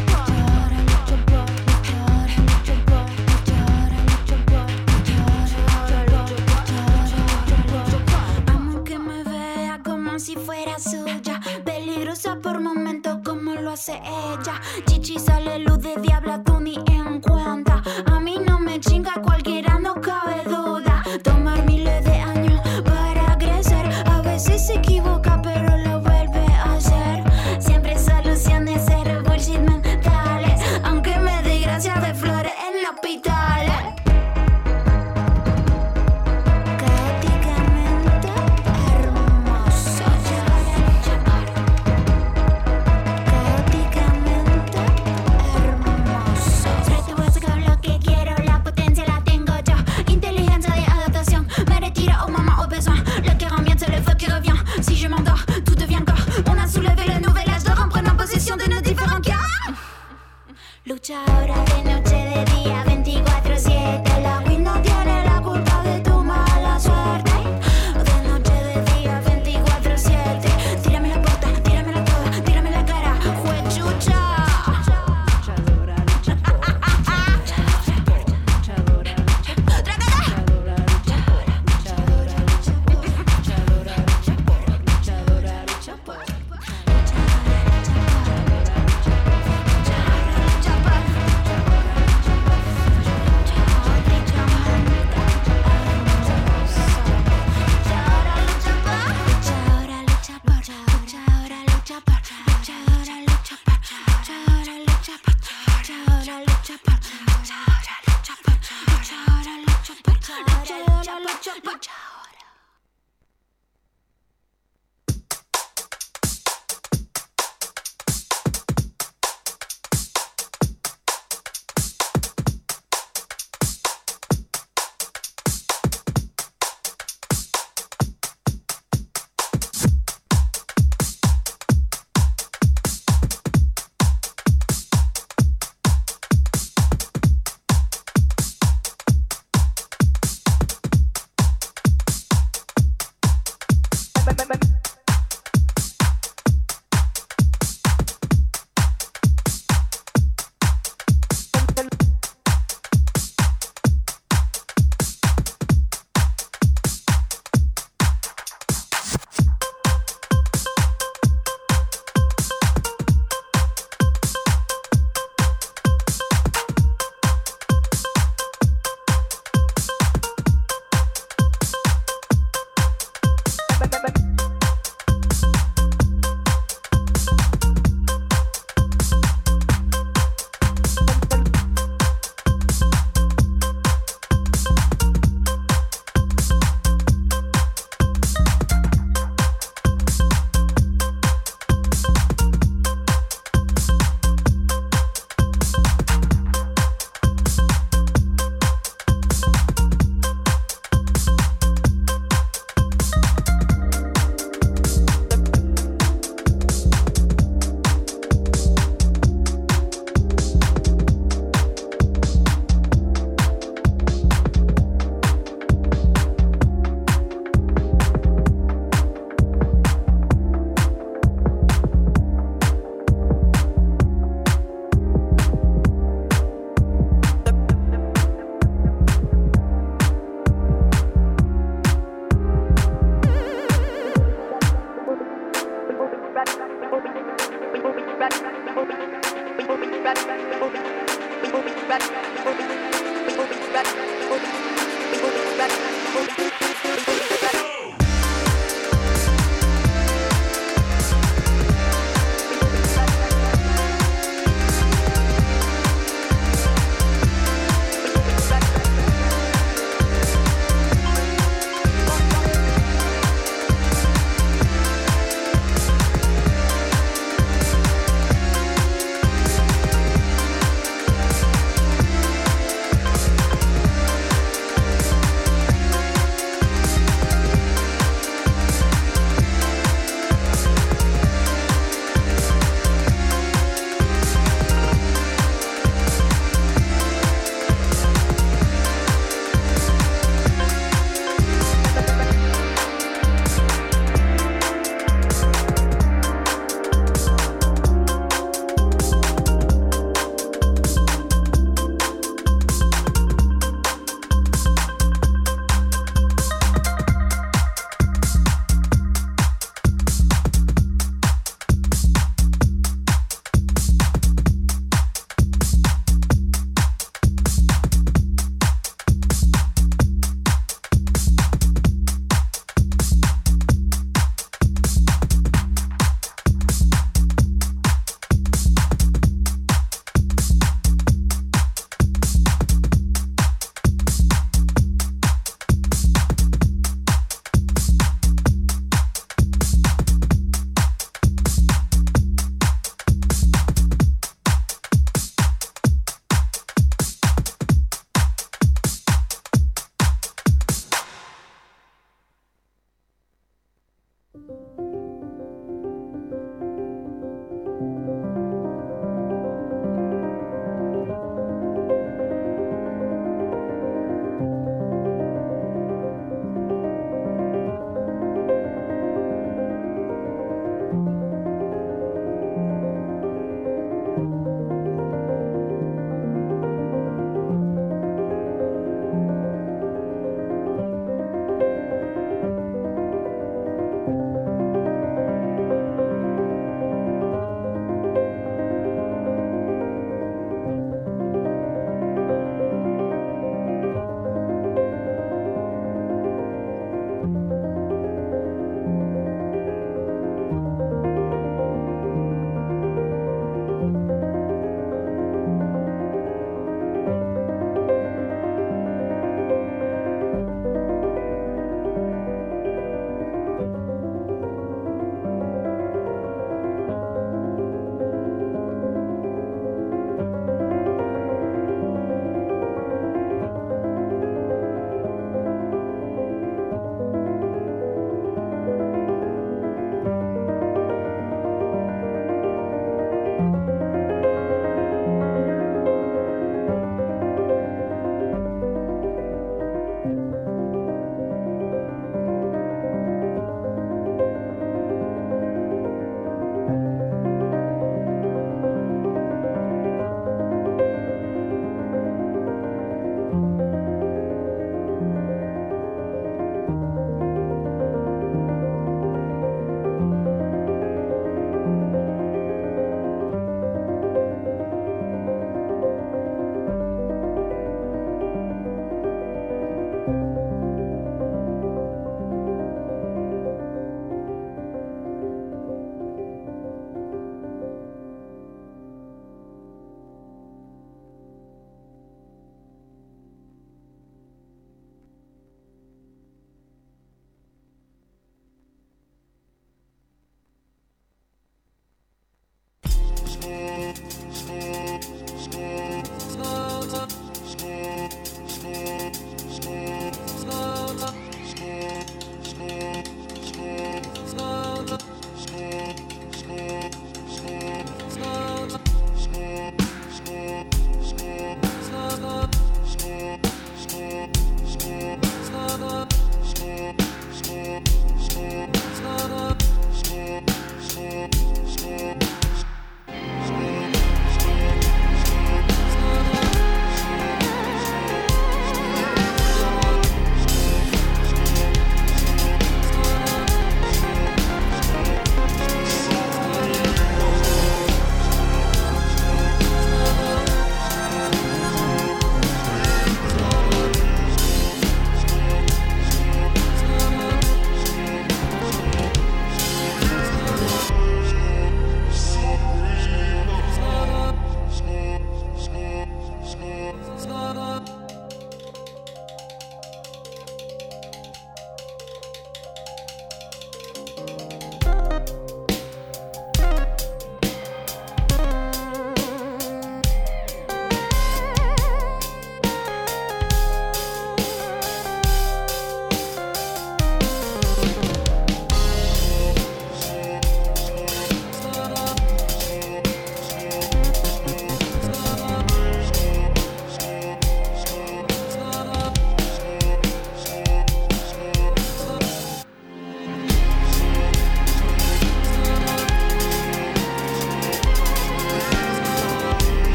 Amo que me vea como si fuera suya, peligrosa por momentos como lo hace ella. Chichi sale luz de diabla, tú ni en cuenta. A mí no me chinga, cualquiera no cabe duda. Tomar miles de años para crecer, a veces se equivoca pero lo vuelve a hacer. Siempre soluciones, cero bullshit mentales, aunque me dé gracia de flores en el hospital. Caóticamente hermoso. Caóticamente hermoso. Te voy a sacar lo que quiero, la potencia la tengo yo. Inteligencia de adaptación, me retire au moment au besoin. Le cœur en miettes, c'est le feu qui revient. Si je m'endors, tout devient corps. On a soulevé le nouvel âge d'or en prenant possession de nos différents cœurs. Lucha ahora de noche, de día, 24/7. La Queen no tiene la culpa de tu mala suerte. De noche, de día, 24/7. Tírame la puerta, tíramela toda, tírame la cara, juechucha.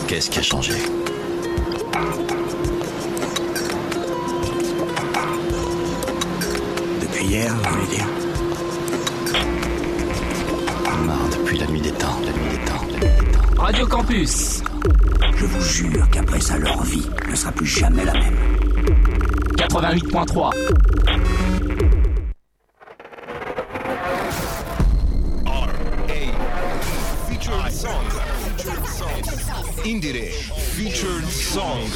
Qu'est-ce qui a changé? Depuis hier, vous voulez dire? Marre depuis la nuit des temps, Radio Campus. Je vous jure qu'après ça, leur vie ne sera plus jamais la même. 88.3. Featured song. Indire. Featured song.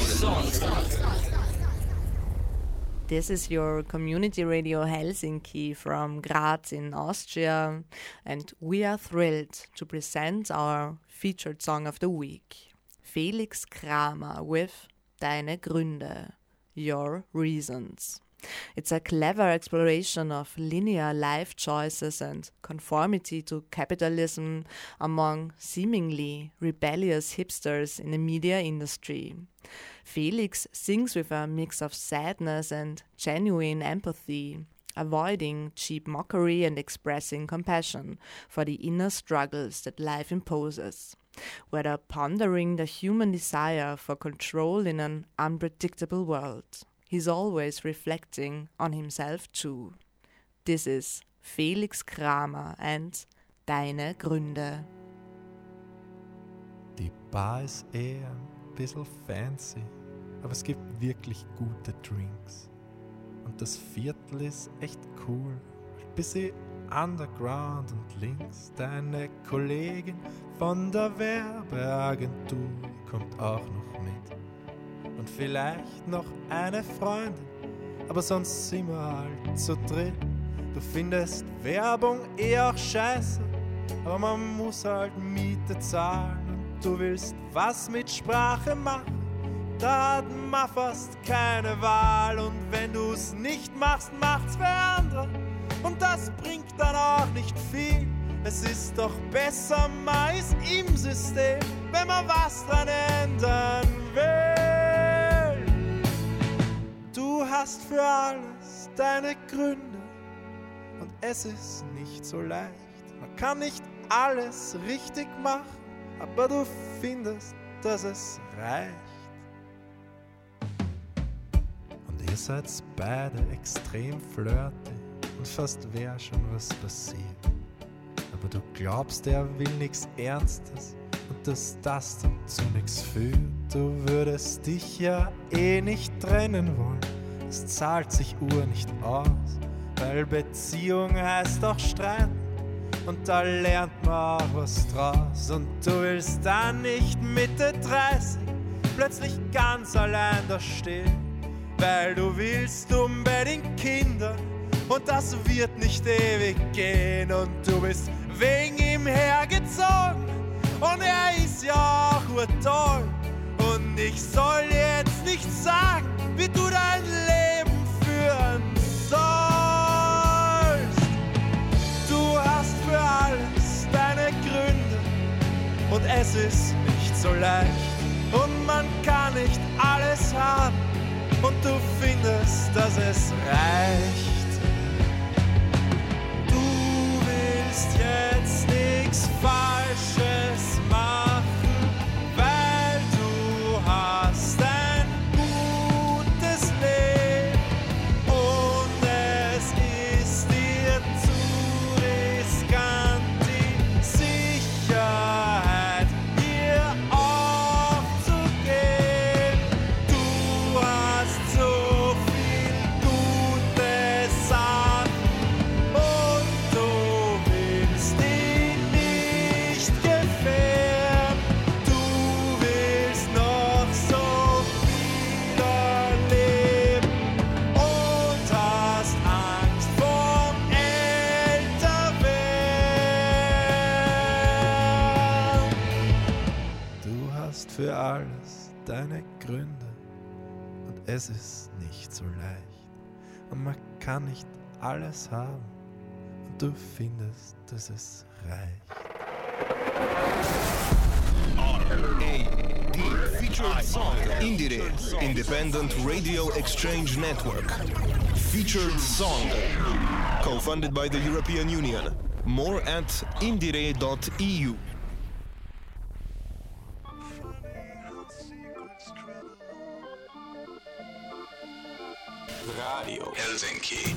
This is your community radio Helsinki from Graz in Austria, and we are thrilled to present our featured song of the week, Felix Kramer with Deine Gründe, Your Reasons. It's a clever exploration of linear life choices and conformity to capitalism among seemingly rebellious hipsters in the media industry. Felix sings with a mix of sadness and genuine empathy, avoiding cheap mockery and expressing compassion for the inner struggles that life imposes, whether pondering the human desire for control in an unpredictable world. He's always reflecting on himself too. This is Felix Kramer and Deine Gründe. Die Bar ist eher ein bisschen fancy, aber es gibt wirklich gute Drinks. Und das Viertel ist echt cool, ein bisschen underground und links. Deine Kollegin von der Werbeagentur kommt auch noch mit. Und vielleicht noch eine Freundin, aber sonst sind wir halt zu dritt. Du findest Werbung auch scheiße, aber man muss halt Miete zahlen. Und du willst was mit Sprache machen, da hat man fast keine Wahl. Und wenn du's nicht machst, macht's für andere. Und das bringt dann auch nicht viel. Es ist doch besser, man ist im System, wenn man was dran ändern will. Du hast für alles deine Gründe und es ist nicht so leicht. Man kann nicht alles richtig machen, aber du findest, dass es reicht. Und ihr seid beide extrem flirty und fast wär schon was passiert. Aber du glaubst, er will nichts Ernstes und dass das dann zu nichts führt. Du würdest dich ja eh nicht trennen wollen, es zahlt sich nicht aus, weil Beziehung heißt auch streiten und da lernt man auch was draus. Und du willst dann nicht Mitte 30 plötzlich ganz allein da stehen, weil du willst unbedingt Kinder und das wird nicht ewig gehen. Und du bist wegen ihm hergezogen und er ist ja auch urtoll. Und ich soll jetzt nicht sagen, wie du dein Leben führen sollst. Du hast für alles deine Gründe und es ist nicht so leicht. Und man kann nicht alles haben und du findest, dass es reicht. Du willst jetzt nichts Falsches machen, weil du hast ein gutes Leben und es ist dir zu riskant, die Sicherheit hier aufzugeben. Du hast so viel gute Sachen und du willst ihn nicht gefährden. Du willst noch so viel erleben und hast Angst vorm Älterwerden. Du hast für alles deine Gründe und es ist nicht so leicht. Und man kann nicht alles haben und du findest, dass es reicht. R.A.D. Featured song. Indire. Independent Radio Exchange Network. Featured song. Co-funded by the European Union. More at indire.eu. Radio Helsinki.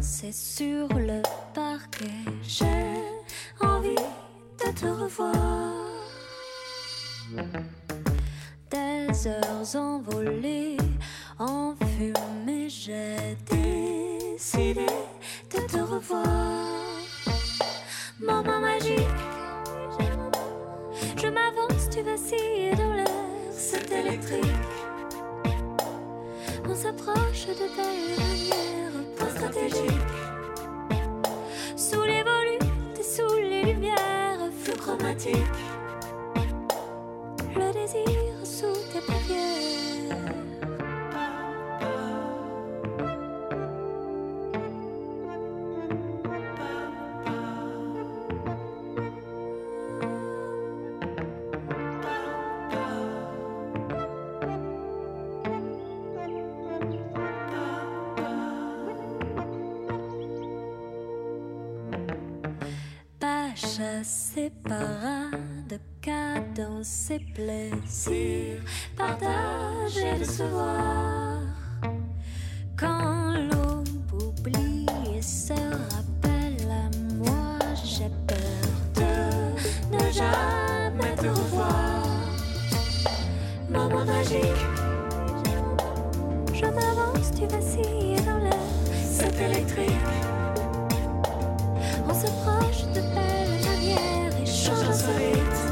danser sur le parquet. J'ai envie de te revoir. Des heures envolées en fumée, j'ai décidé de te revoir. Moment magique, je m'avance, tu vacilles dans l'air, c'est électrique. On s'approche de belle manière, pas stratégique. Sous les volutes et sous les lumières, flou chromatique. Le désir sous tes paupières. Chassé parade, cadence et plaisir, partager, recevoir. Quand l'aube oublie et se rappelle à moi, j'ai peur de ne jamais te revoir. Moment magique, je m'avance, tu vacilles dans l'air, c'est électrique. On s'approche de belle manière et change insolite.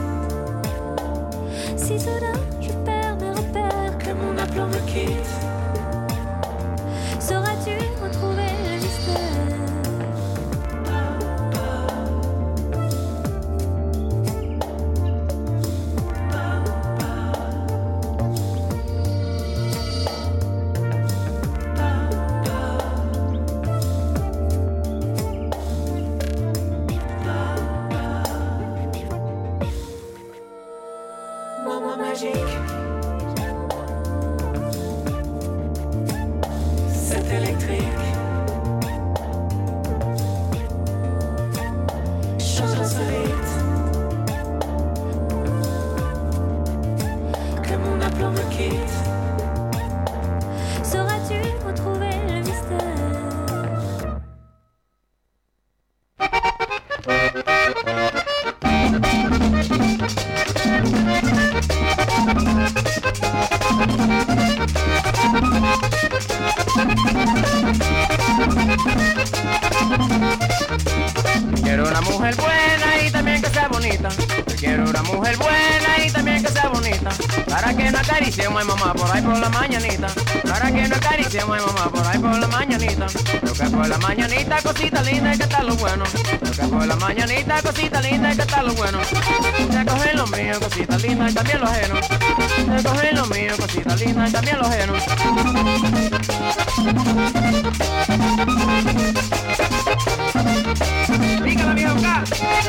Si soudain je perds mes repères, que mon aplomb me quitte, sauras-tu retrouver le mystère? C'est électrique. Change insolite. Que mon aplomb me quitte. Sauras-tu retrouver le mystère? Quiero una mujer buena y también que sea bonita. Yo quiero una mujer buena y también que sea bonita. Para que no acariciemos a mamá por ahí por la mañanita. Para que no acariciemos a mamá por ahí por la mañanita. Lo que por la mañanita, cosita linda y que está lo bueno. Lo que por la mañanita, cosita linda y que está lo bueno. Te cogen lo mío, cosita linda y también lo ajeno. Te cogen lo mío, cosita linda y también lo ajeno. Dígala, viejo acá.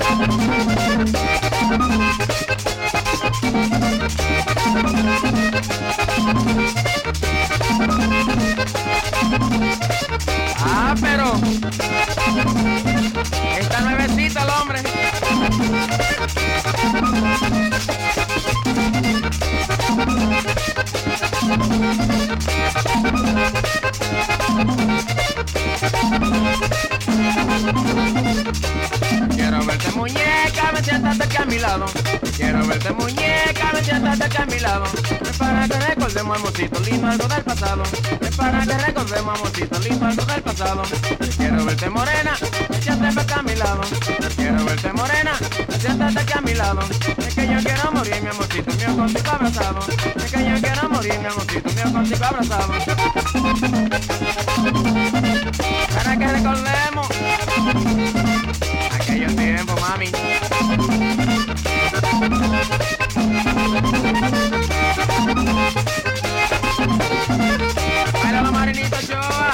Ah, pero está nuevecita el hombre. Quiero verte muñeca, me siéntate aquí a mi lado. Quiero verte muñeca, me siéntate aquí a mi lado. Es para que recordemos, amorcito lindo, algo del pasado. Es para que recordemos, amorcito lindo, algo del pasado. Quiero verte morena, siéntate aquí a mi lado. Quiero verte morena, siéntate aquí a mi lado. Es que yo quiero morir, mi amorcito mío, contigo abrazado. Es que yo quiero morir, mi amorcito mío, contigo abrazado. Para que recordemos aquellos tiempos, mami. Baila la Marinita Ochoa.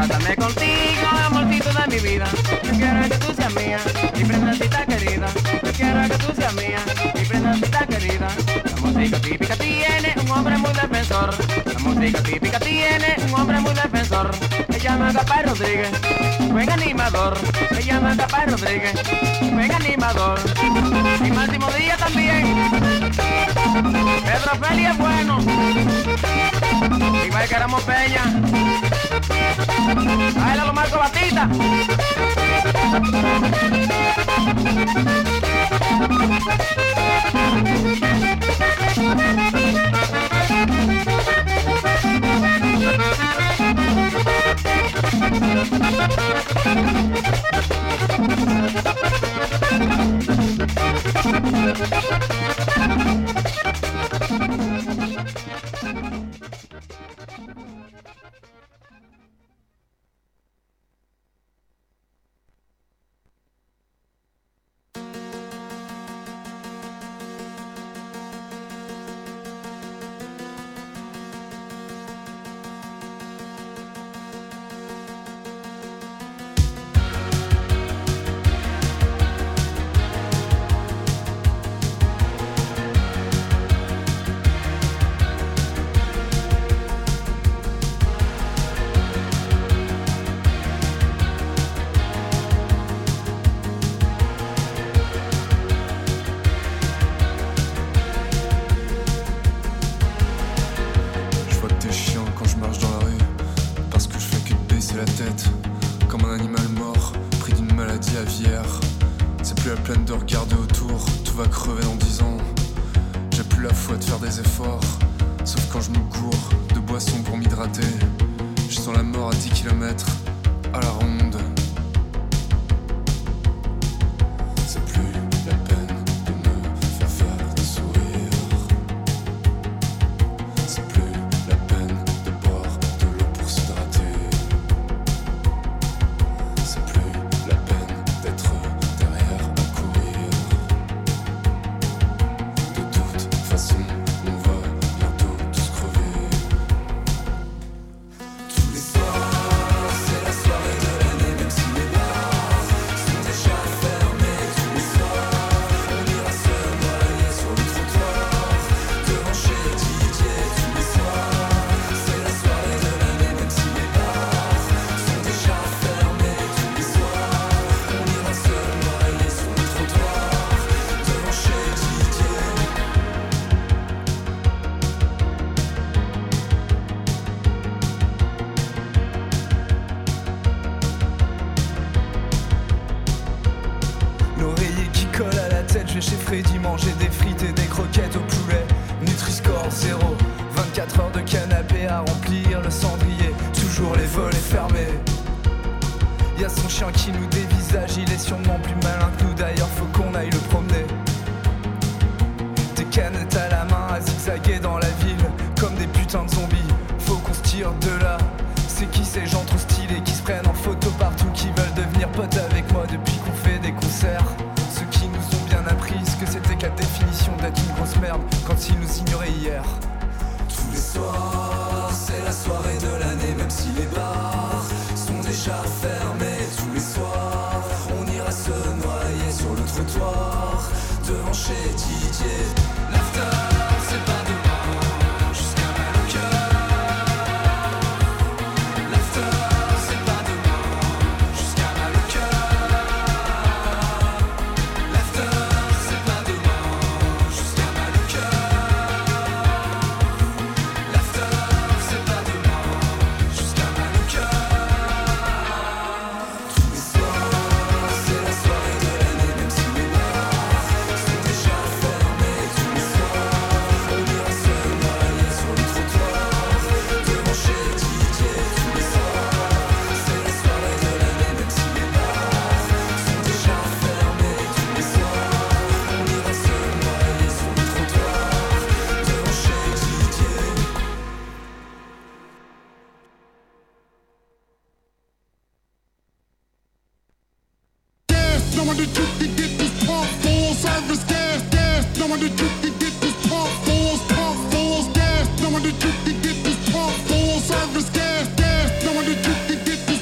casarme contigo, amorcito de mi vida. Yo quiero que tú seas mía, mi princesita querida. Yo quiero que tú seas mía, mi princesita querida. La música típica tiene un hombre muy defensor. La música típica tiene un hombre muy defensor. Se llama Capay Rodríguez, buen animador. Se llama Capay Rodríguez, buen animador. Y Máximo Díaz también. Pedro Feli es bueno. Igual que Ramos Peña. Baila los Marcos Batista. Chez Freddy, manger des frites et des croquettes au poulet. Nutri-Score 0, 24 heures de canapé à remplir le cendrier. Toujours les volets fermés. Y'a son chien qui nous dévisage, il est sûrement plus malin que nous. D'ailleurs faut qu'on aille le promener. Des canettes à la main à zigzaguer dans la ville comme des putains de zombies. Faut qu'on se tire de là. C'est qui ces gens trop stylés qui se prennent en photo partout, qui veulent devenir potes avec moi depuis qu'on fait des concerts? Ceux qui nous ont bien appris ce que c'était que la définition d'être une grosse merde quand ils nous ignoraient hier. Tous les soirs, c'est la soirée de l'année, même si les bars sont déjà fermés. Tous les soirs, on ira se noyer sur le trottoir devant chez Didier. L'after, c'est pas demain, jusqu'à mal au cœur. L'after, c'est pas demain, jusqu'à mal au cœur. L'after, c'est pas demain, jusqu'à mal au cœur. L'after, c'est pas demain, jusqu'à mal au cœur. Tous les soirs, c'est la soirée de l'année, même si les bars sont déjà fermés. Tous les soirs, on ira se noyer sur le trottoir devant chez Didier. Tous les soirs, c'est la soirée de l'année, même si les bars sont déjà fermés. Tous les soirs, on ira se noyer sur le trottoir devant chez Didier. Gas, no one to took to get this pump full service. Gas, gas, no one to took to get this pump full gas. No one to took to get this pump full service. Gas, gas, no one to took to get this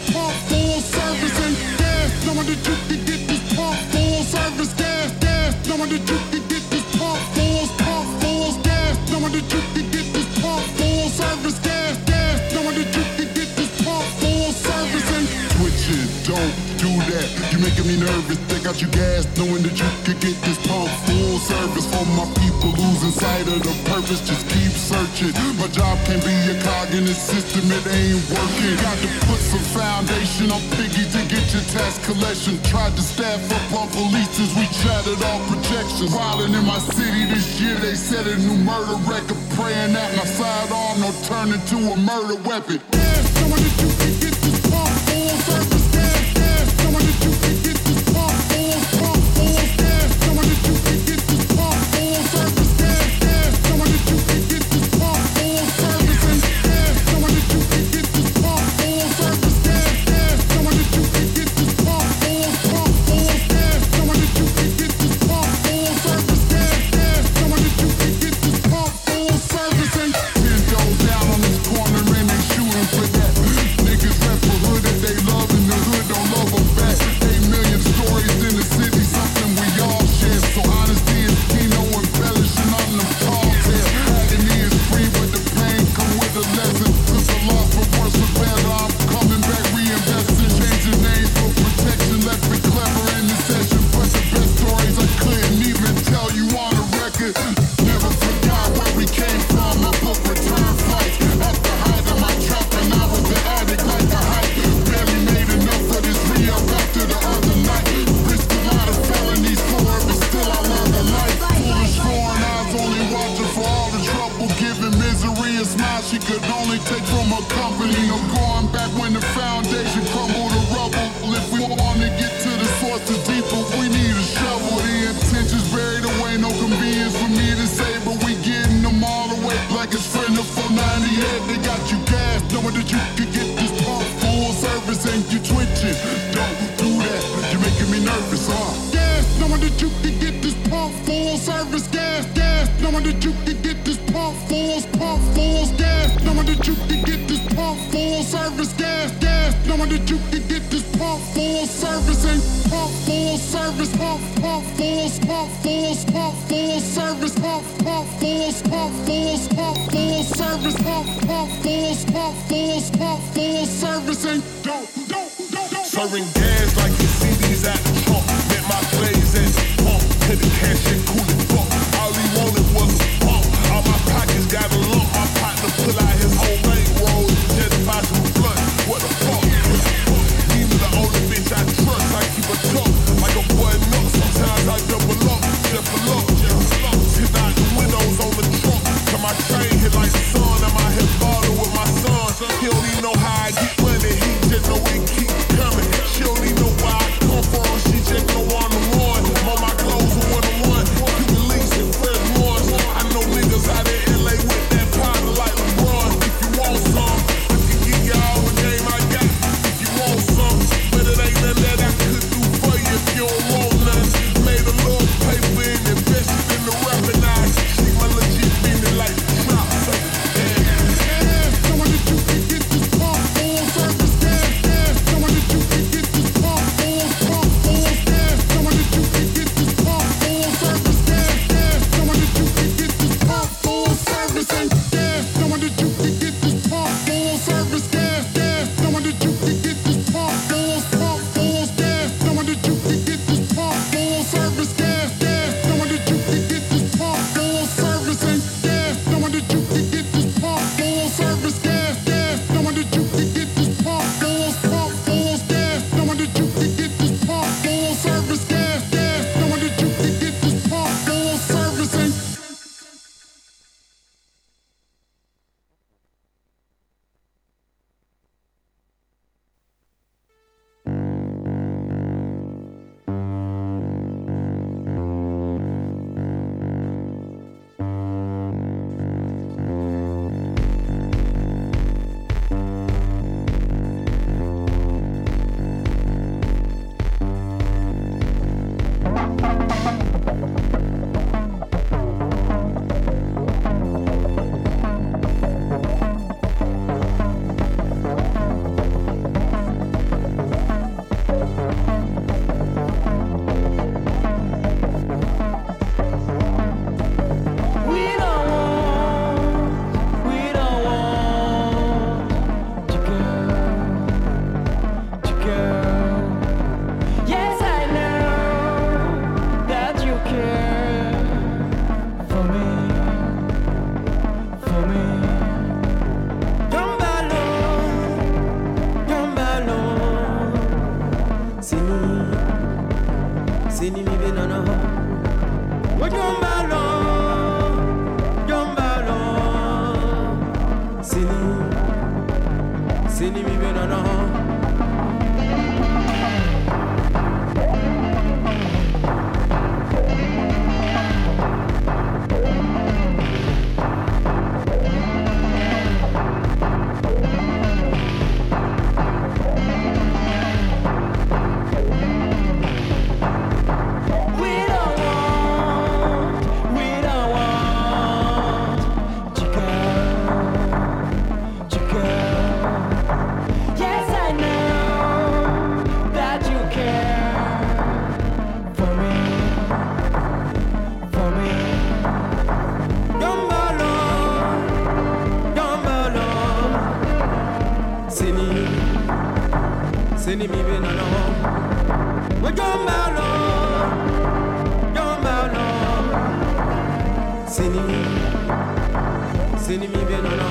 Knowing that you can get this pump fulls gas. Knowing that you can get this pump full service gas. Knowing that you can get this pump full service and switch it. Don't do that. You're making me nervous. They got you gas. Knowing that you can get this pump full service. For my people losing sight of the purpose, just keep searching. My job can't be a cog in the system. It ain't working. Got to put some foundation on Piggy to get your tax collection. Tried to staff up on police as we chatted all projections. Wildin' in my city this year, they set a new murder record. Praying that my sidearm don't turn into a murder weapon. Gas, knowing that you can get this pump full service gas. Knowing that you can get this pump full gas. Knowing that you can get this pump full service gas. Knowing that you can get this pump full service and gas. Knowing that you can get this pump full service gas. Knowing that you can get this pump full gas. Knowing that you can get this pump full service gas. Knowing that you can get this pump full service and 10 goes down on this corner and they shooting for that. Niggas rap for hood that they love and the hood don't love them back. 8 million stories in the city, something we all share. So honesty is key, no embellishing on them tall tales. Agony is free, but the pain come with a lesson. Cause the loss for worse or better, I'm coming back reinvesting. Changing names for protection, left me clever in the session. But the best stories I couldn't even tell you on the record. Never forgot where we came from, I booked return flights. At the height of my trap and I was the addict like a hype. Barely made enough for this re-up after the other night. Risked a lot of felonies for it, but still I love the life. Foolish foreign eyes only watching for all the trouble. Giving misery a smile she could only take from her company. No going back when the foundation crumbled to rubble. If we want to get to the source of deeper, we need a shovel. The intentions buried away, no convenience for me to say, but we getting them all away like it's friend of 498. They got you gas, knowing that you could get this pump full service and you twitching. Don't do that, you're making me nervous, Gas, knowing that you could get this pump full service gas. Knowing that you could get this pump full gas. Knowing that you could get this pump full service gas. Knowing that you could get this pump full service and pump full service, pump full service, pump full service, pump full service and don't. Serving gas like you see these at the trunk. Met my plays at the pump. Couldn't cash it, cool as fuck. All he wanted was a pump. All my pockets got a lump. My partner pull out his whole bankroll just to buy some blunt. What the fuck? Even the only bitch I trust, I keep a tuck. Like a boy nut, sometimes I double up. Just for luck. Sit out the windows on the trunk. Till my train hit like the sun. I'm out here balling with my son. He don't even know how I get money. He just know it keep coming. She don't even know where I come from. She just Sini mi be nono. Wajombalo, jombalo. Sini mi be nono. Sini mi be no no. We jombalo, jombalo. Sini mi be no no.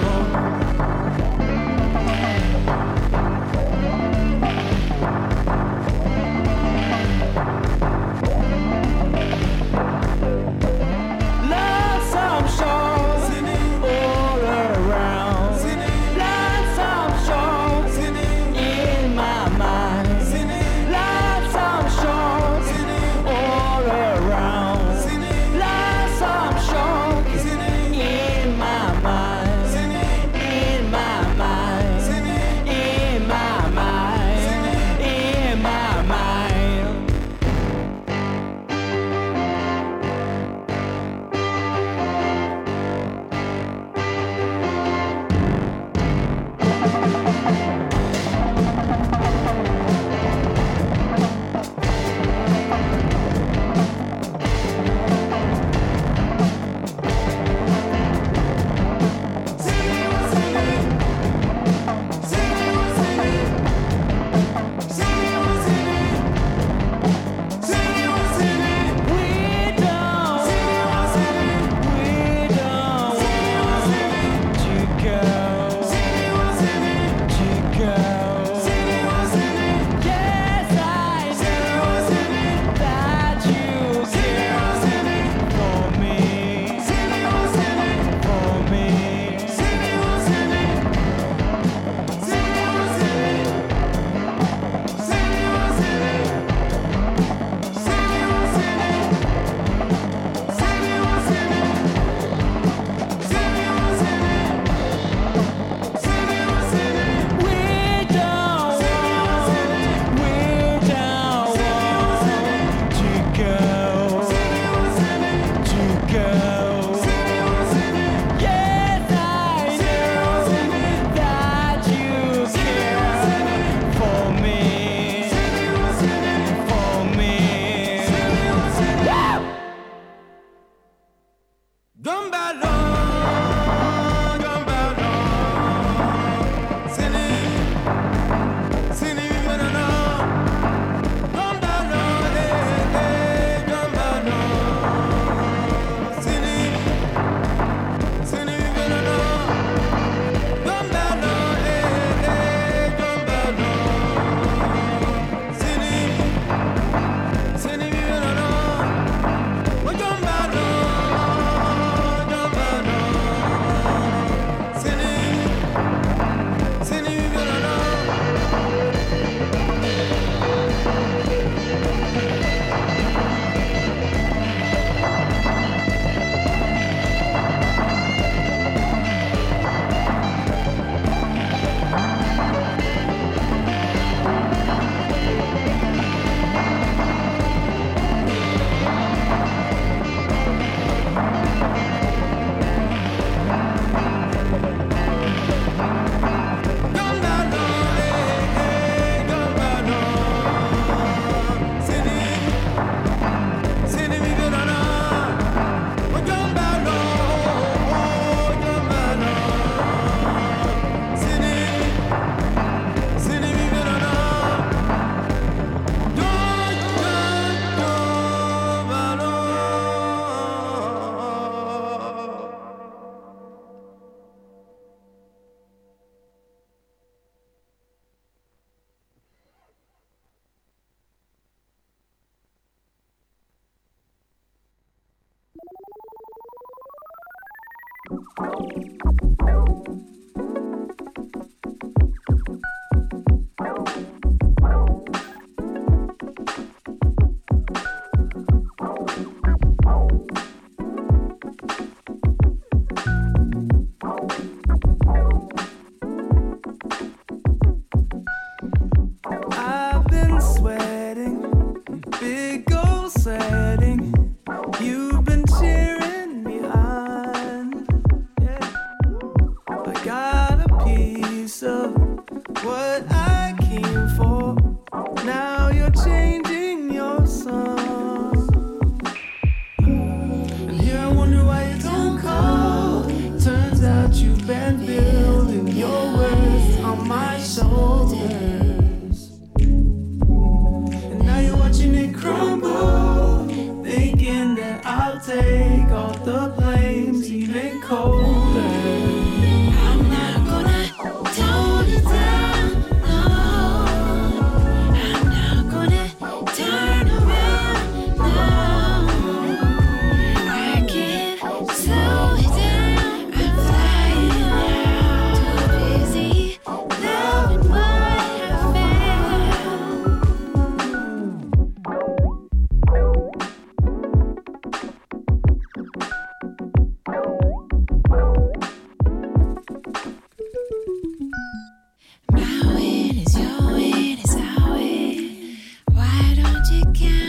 My win is your win is our win. Why don't you count?